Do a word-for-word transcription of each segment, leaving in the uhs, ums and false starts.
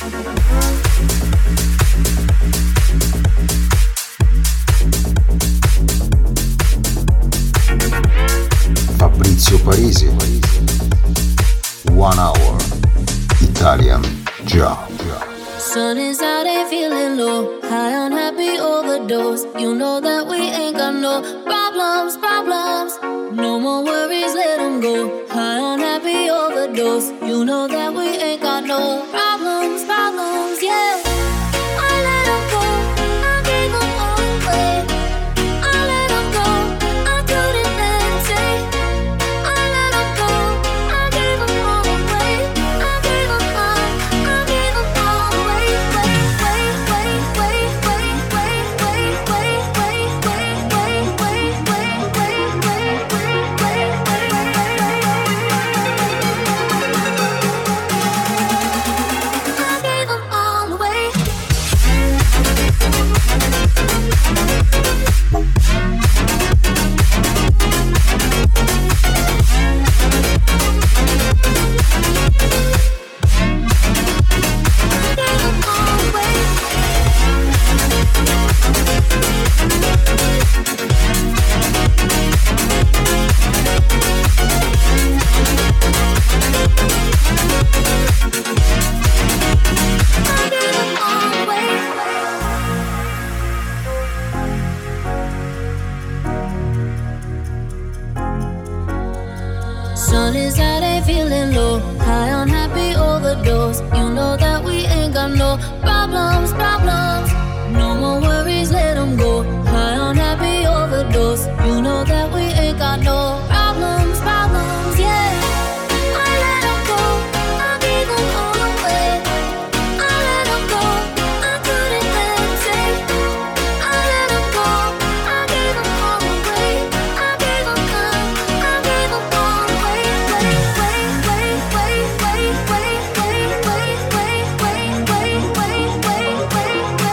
Fabrizio Parisi, One Hour, Italian Job. Sun is out and feeling low, high on happy overdose. You know that we ain't got no problems, problems. No more worries, let them go. High on happy overdose. You know that we ain't got no problems, problems, yeah. I let them go, I gave them all away. I let them go, I couldn't let them take. I let them go, I gave them all away. I gave them all, I gave them all away. Wait, wait, wait, wait, wait, wait, wait, wait, wait, wait, wait, wait, wait, wait, wait, wait, I gave them all away. Sun is out and feeling low, high on happy overdose. You know that we ain't got no problems, problems. No more worries, let them go. High on happy overdose. You know that we ain't got no problems, problems, yeah. I let them go, I gave them all away. I let them go, I couldn't let them take. I let them go, I gave them all away. I gave them all, I gave them all away. Wait, wait, wait, wait, wait, wait, wait, wait, wait, wait, wait, wait, wait, wait, wait.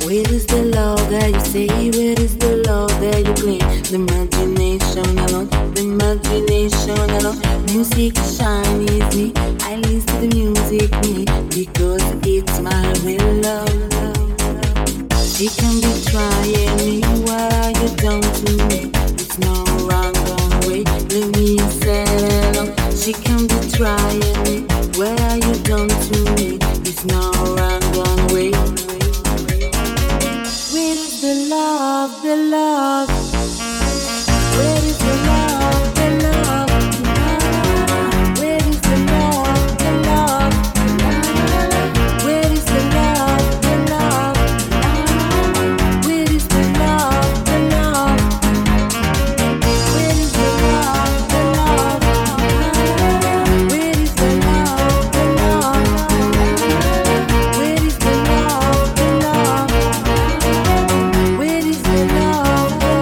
Where is the love that you say? Where is the love that you claim? The imagination alone, the imagination alone. Music shine is me. I listen to the music me because it's my real love. She can be trying me. What are you done to me? It's no wrong way. Let me say hello. She can be trying me. What are you done to me? It's no wrong way. Where is the love, the love? Where is the love, the love? Where is the love, the love? Where is the love, the love? Where is the love, the love? Where is the love, the love? Where is the love, the love? Where is the love, the love? Where is the love, the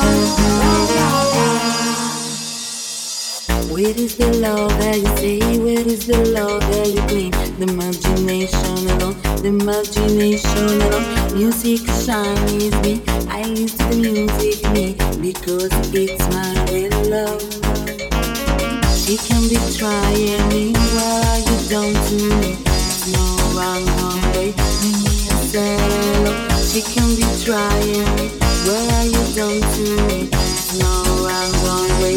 love? Where is the love that you say? Where is the love that you claim? The imagination alone, the imagination alone. Music shine is me. I listen to the music me because it's my real love. She can be trying me. What are you done to me? No wrong way. Let me say hello. She can be trying me. What are you done to me? No wrong way.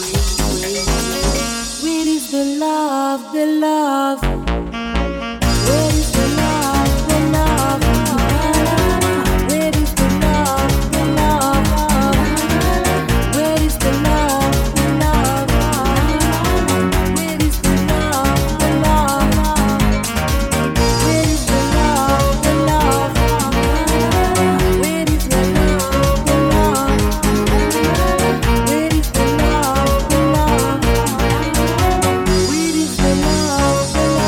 Where is the love, the love? Where is the love, the love? Where is the love, the love? Where is the love, the love? Where is the love, the love? Where is the love, the love? Where is the love, the love? Where is the love, the love? Where is the love, the love?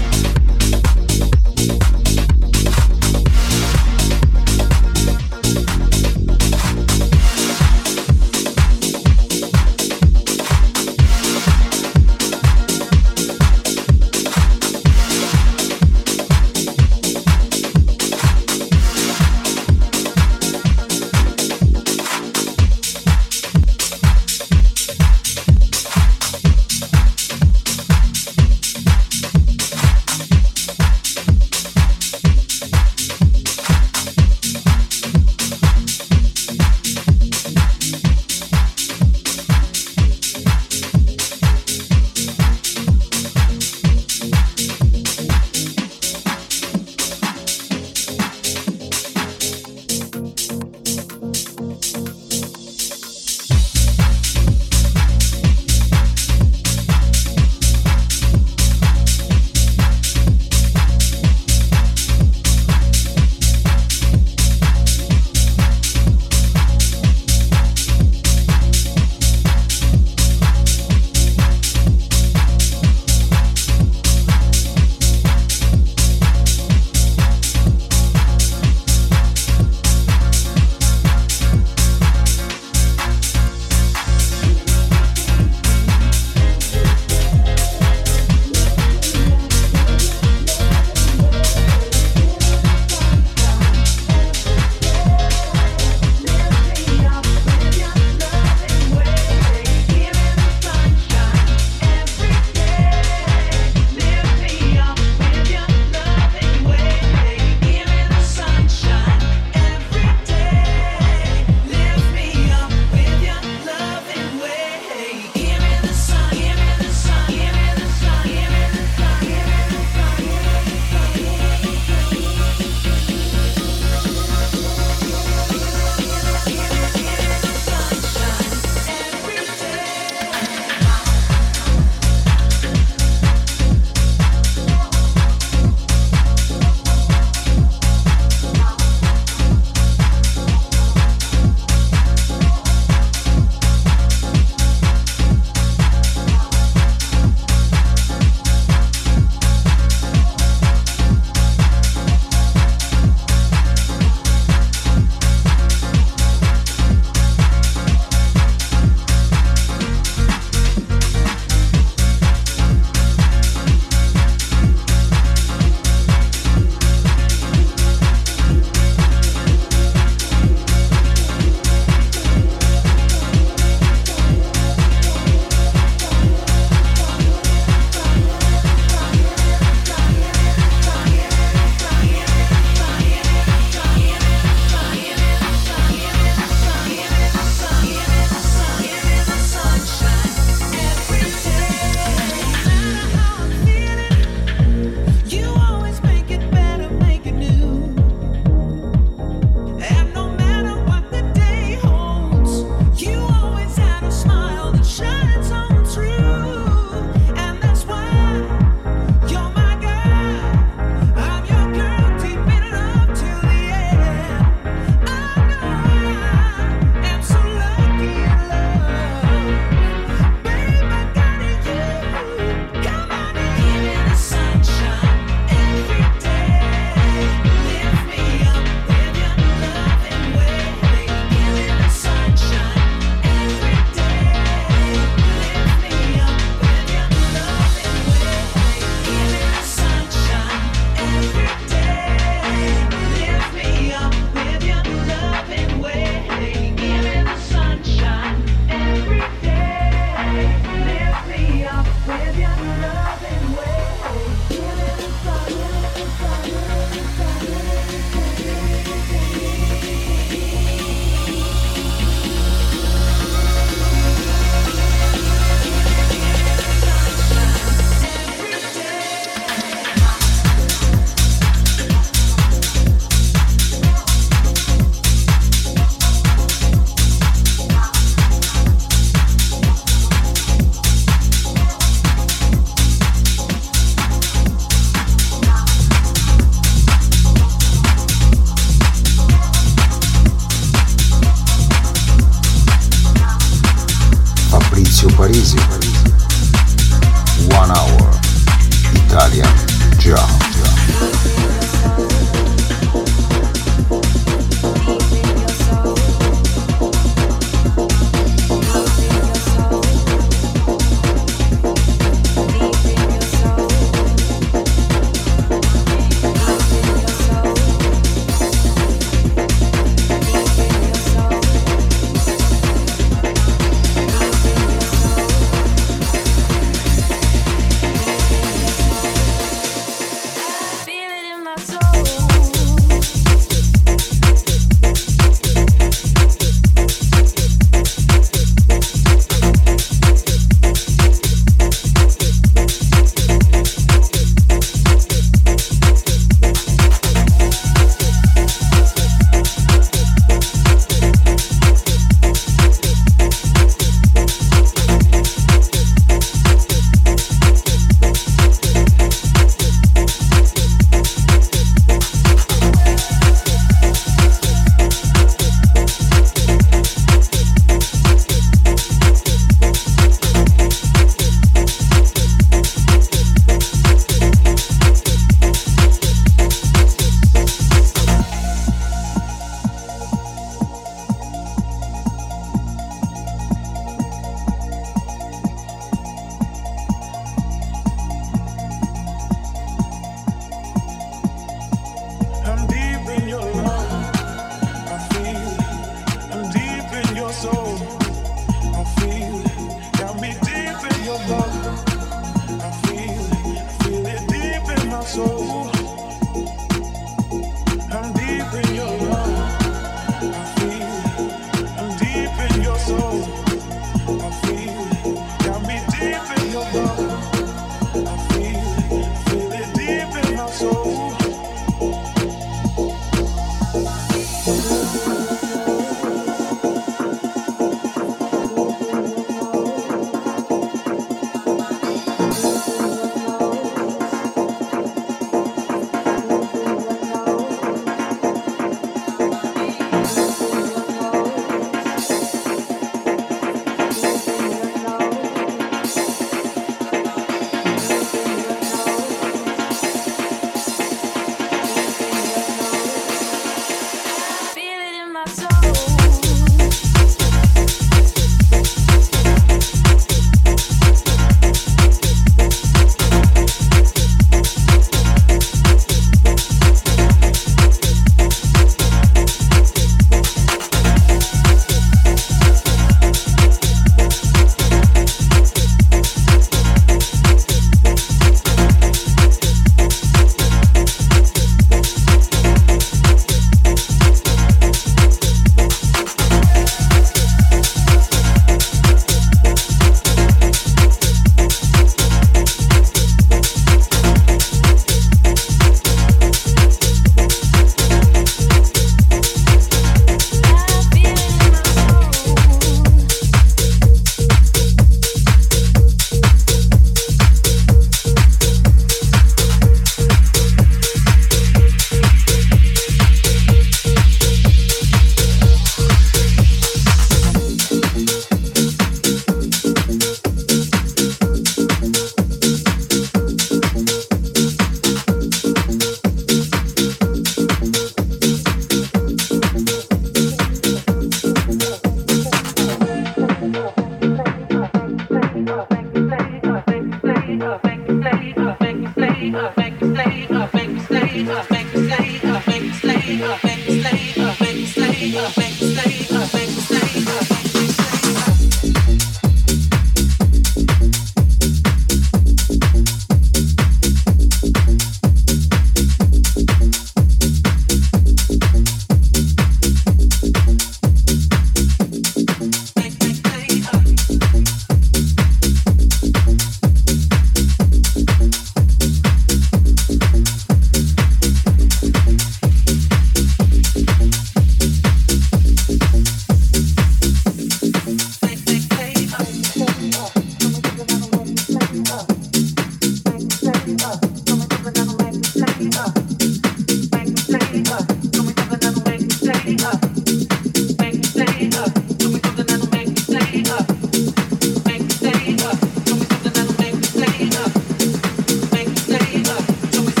Make me stay up.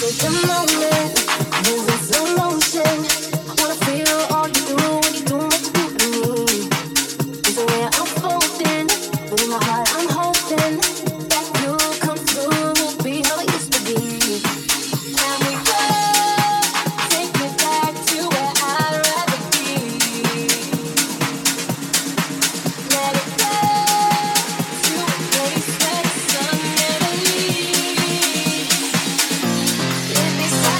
Let me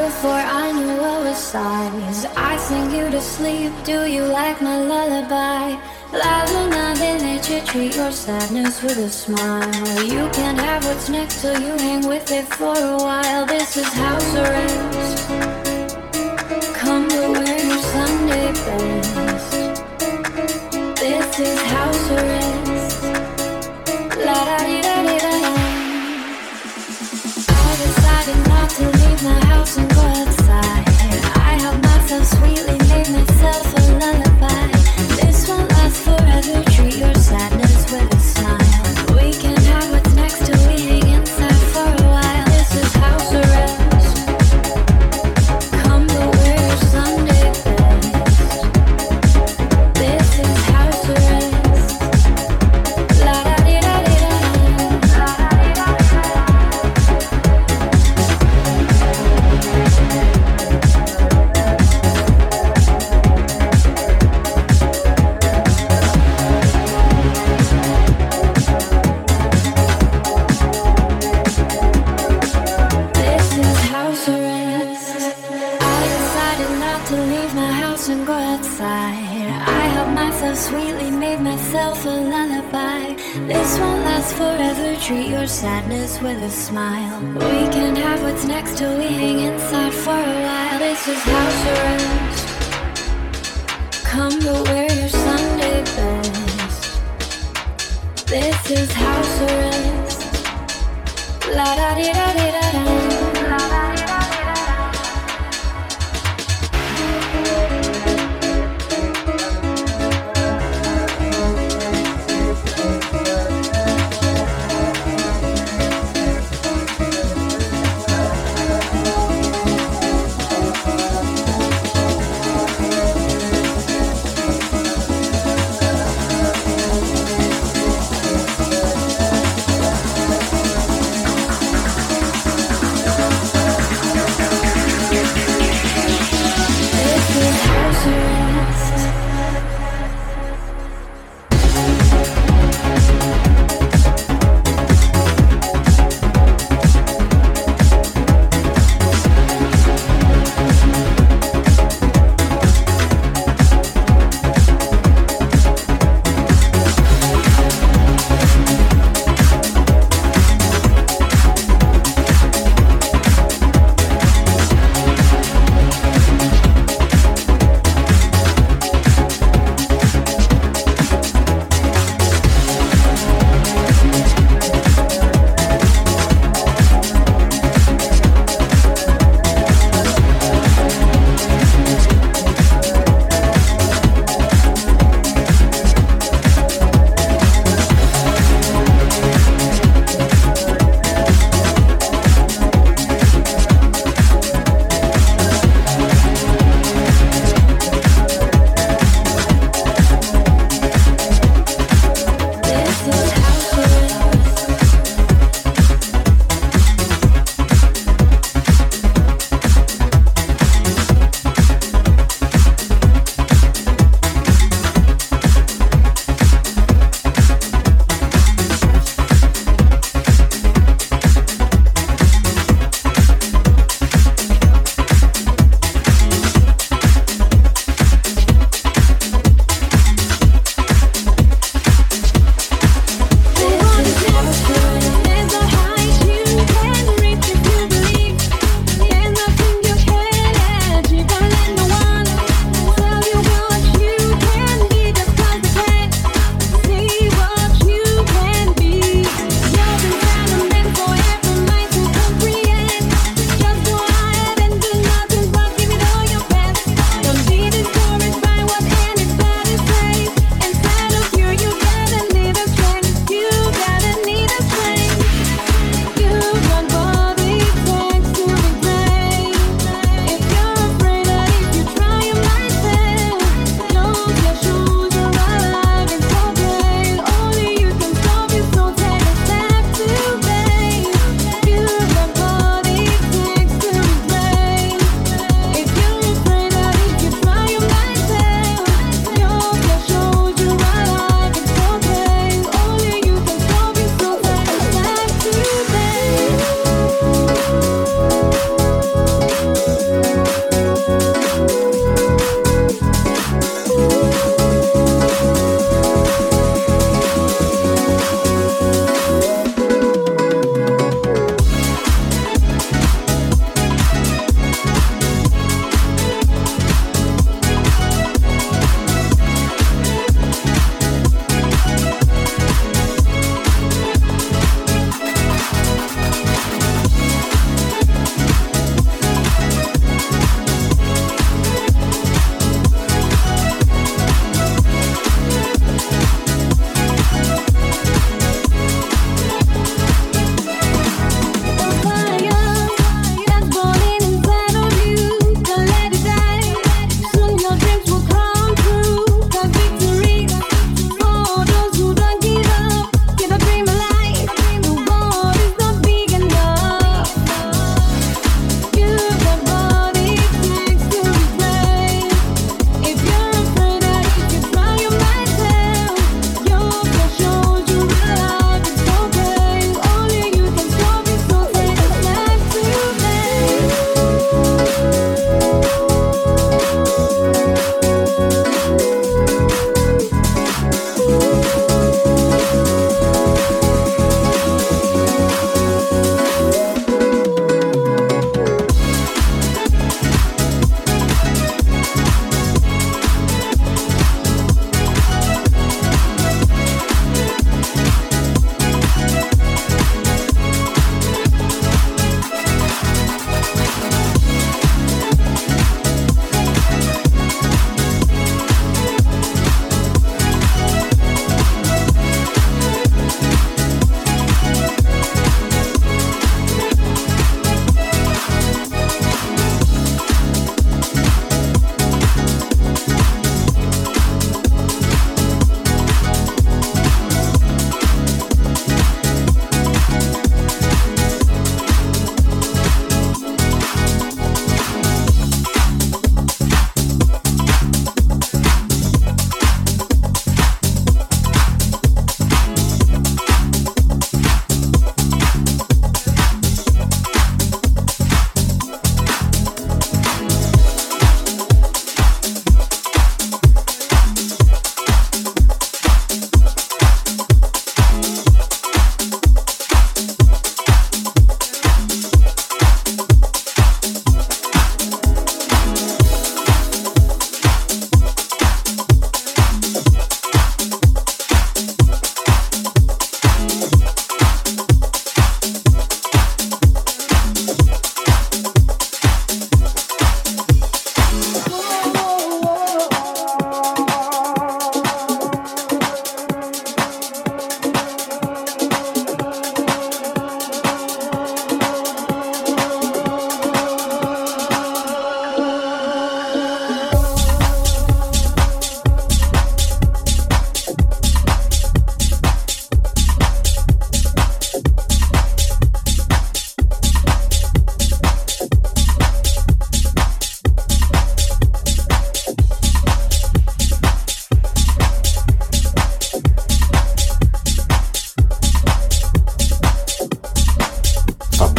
before I knew what was sighs. I sing you to sleep, do you like my lullaby? La la la, they let you treat your sadness with a smile. You can't have what's next till you hang with it for a while. This is house arrest. Come to wear your Sunday best. This is house arrest. La da di da di da da. I decided not to leave my house and go outside. I helped myself sweetly, made myself a lullaby. This won't last forever, treat your sadness with a smile. We can have what's next till we hang inside for a while. This is house arrest. Come to wear your Sunday best. This is house arrest. La da di da di da da. This is house arrest. I decided not to leave my house and go outside. I helped myself sweetly, made myself a lullaby. This won't last forever, treat your sadness with a smile. We can have what's next till we hang inside for a while. This is house arrest. Come to wear your Sunday best. This is house arrest. La da di da di da da. La da di da di da da.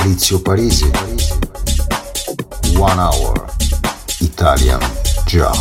Maurizio Parisi. One Hour Italian Job.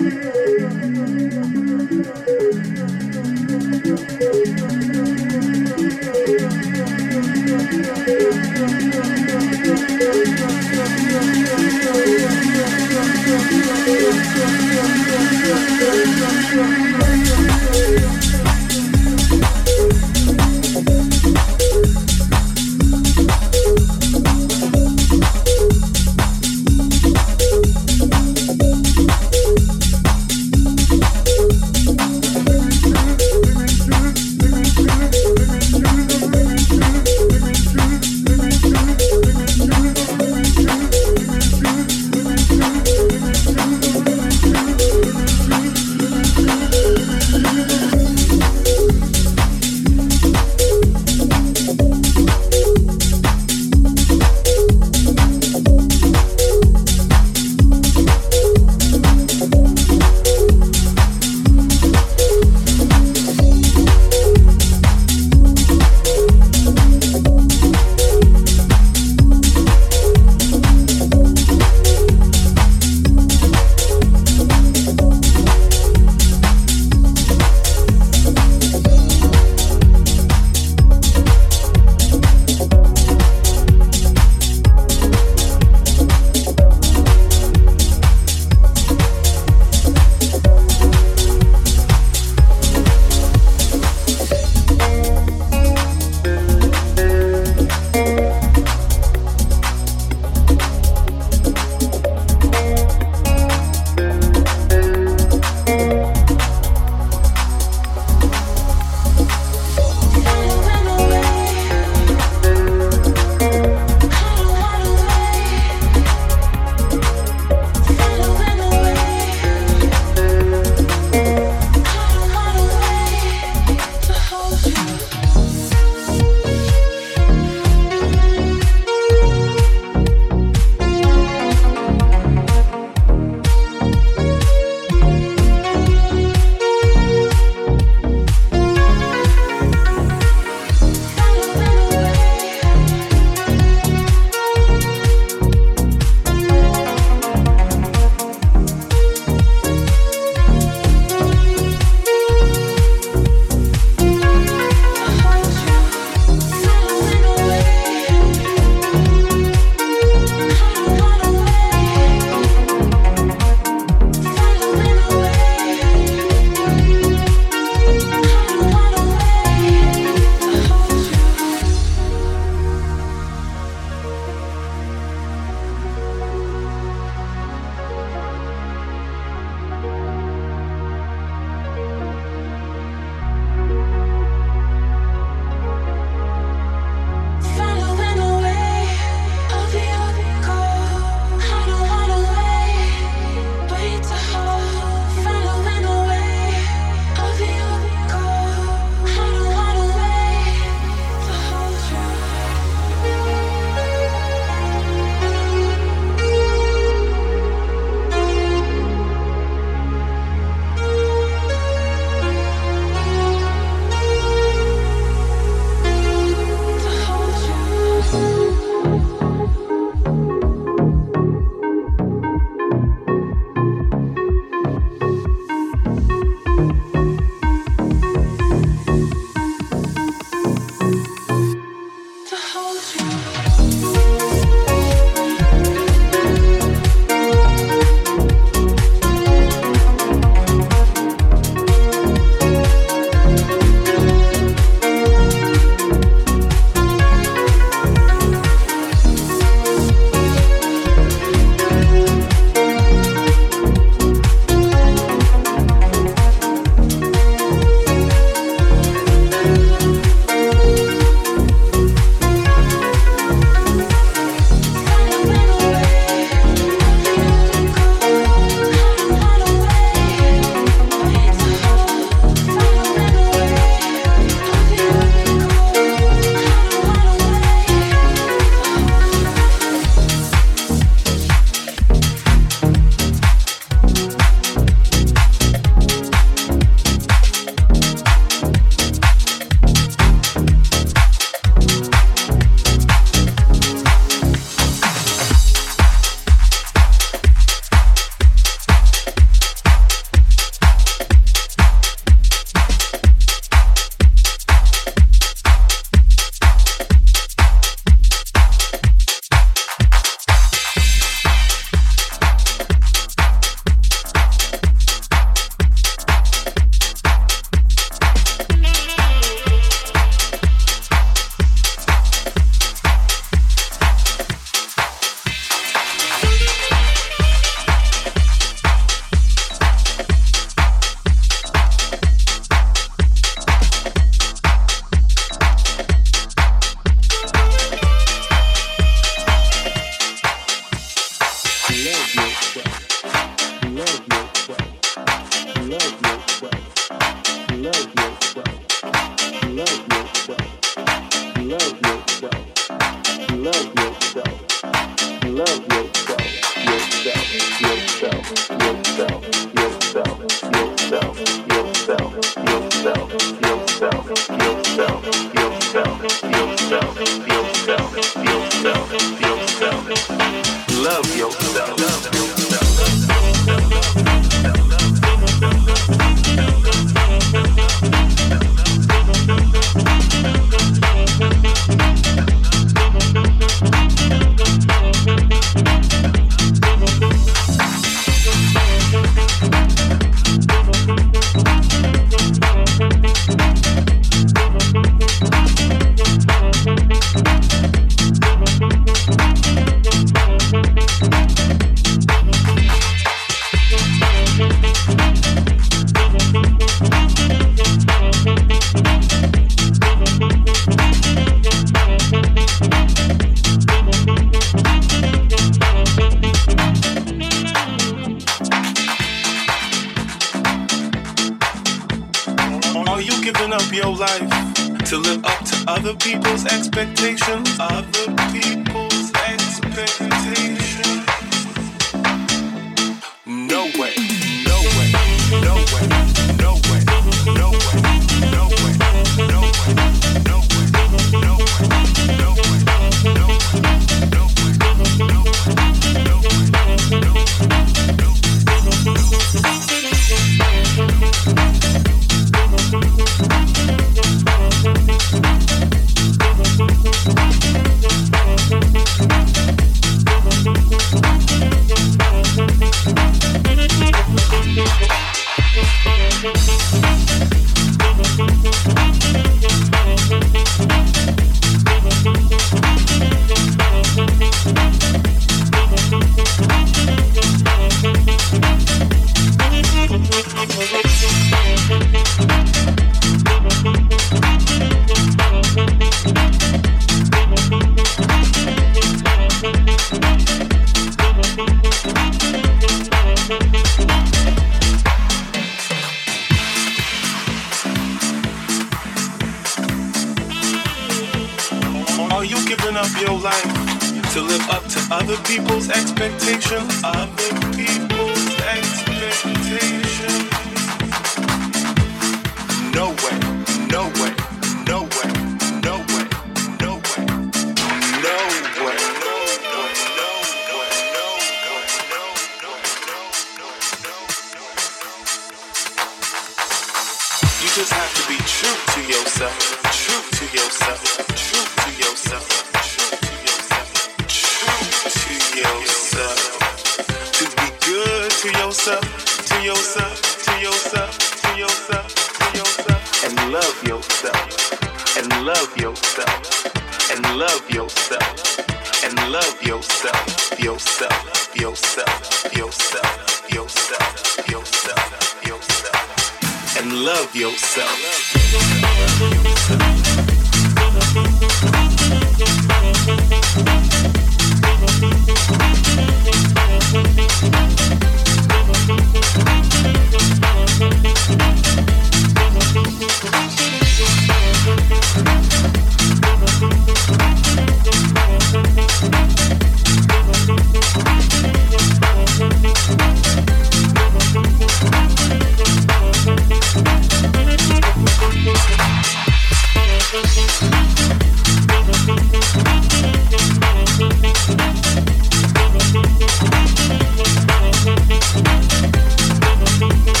We'll be right back.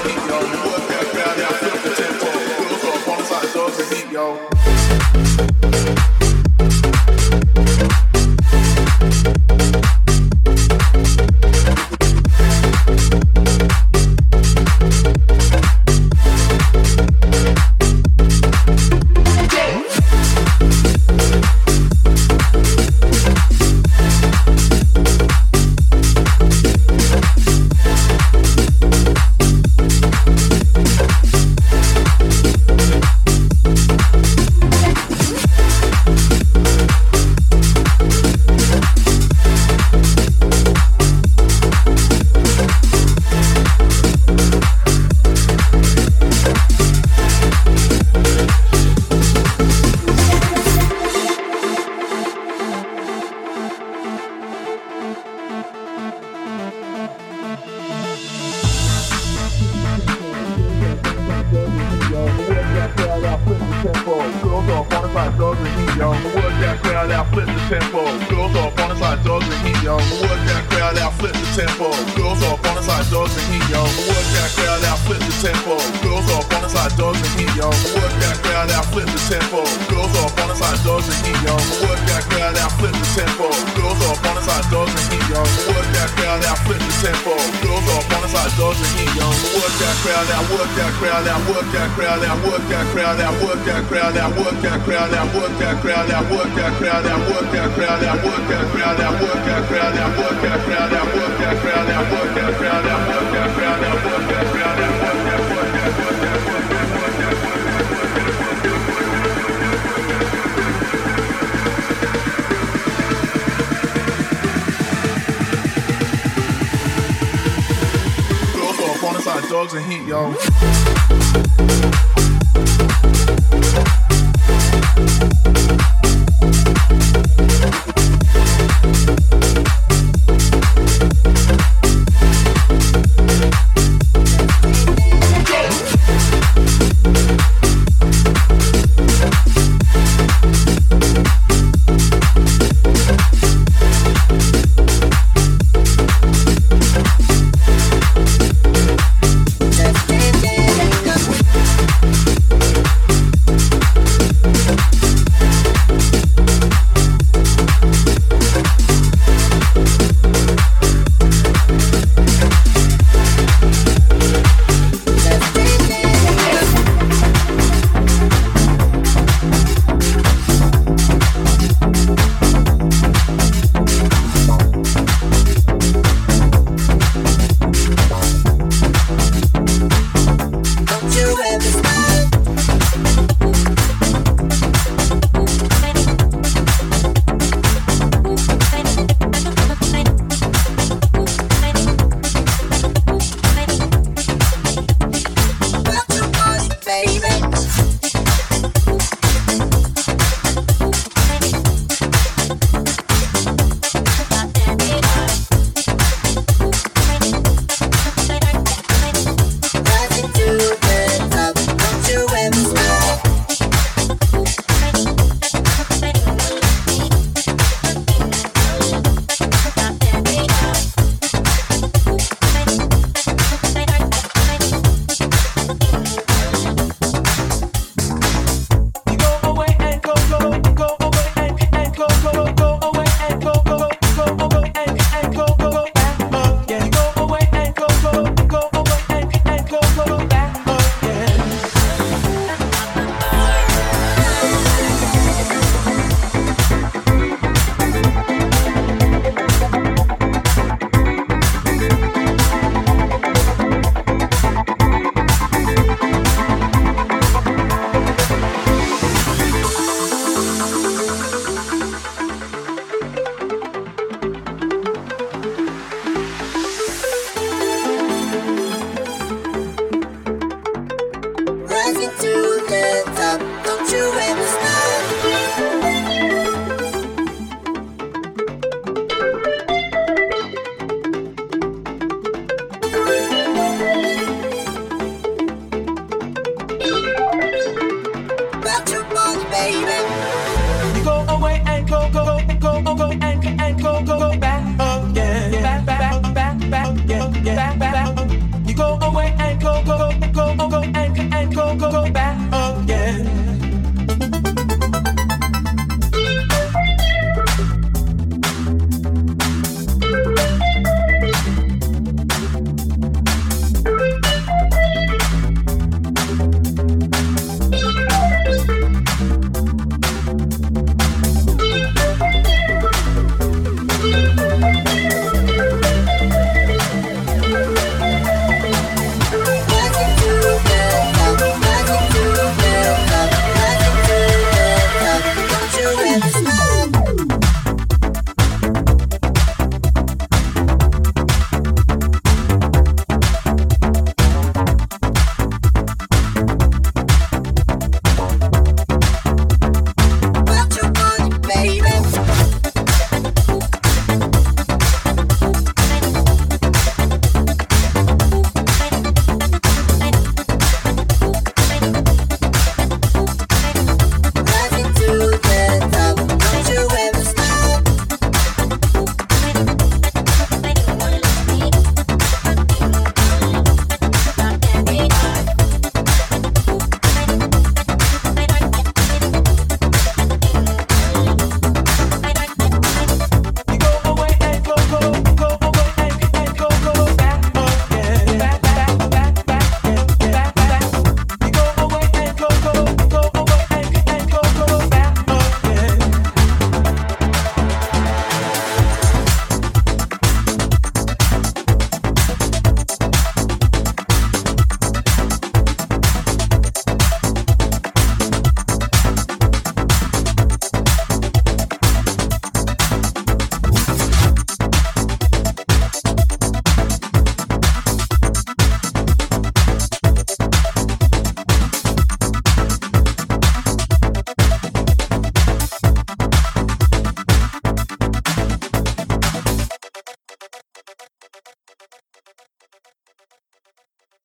Dogs and heat, yo.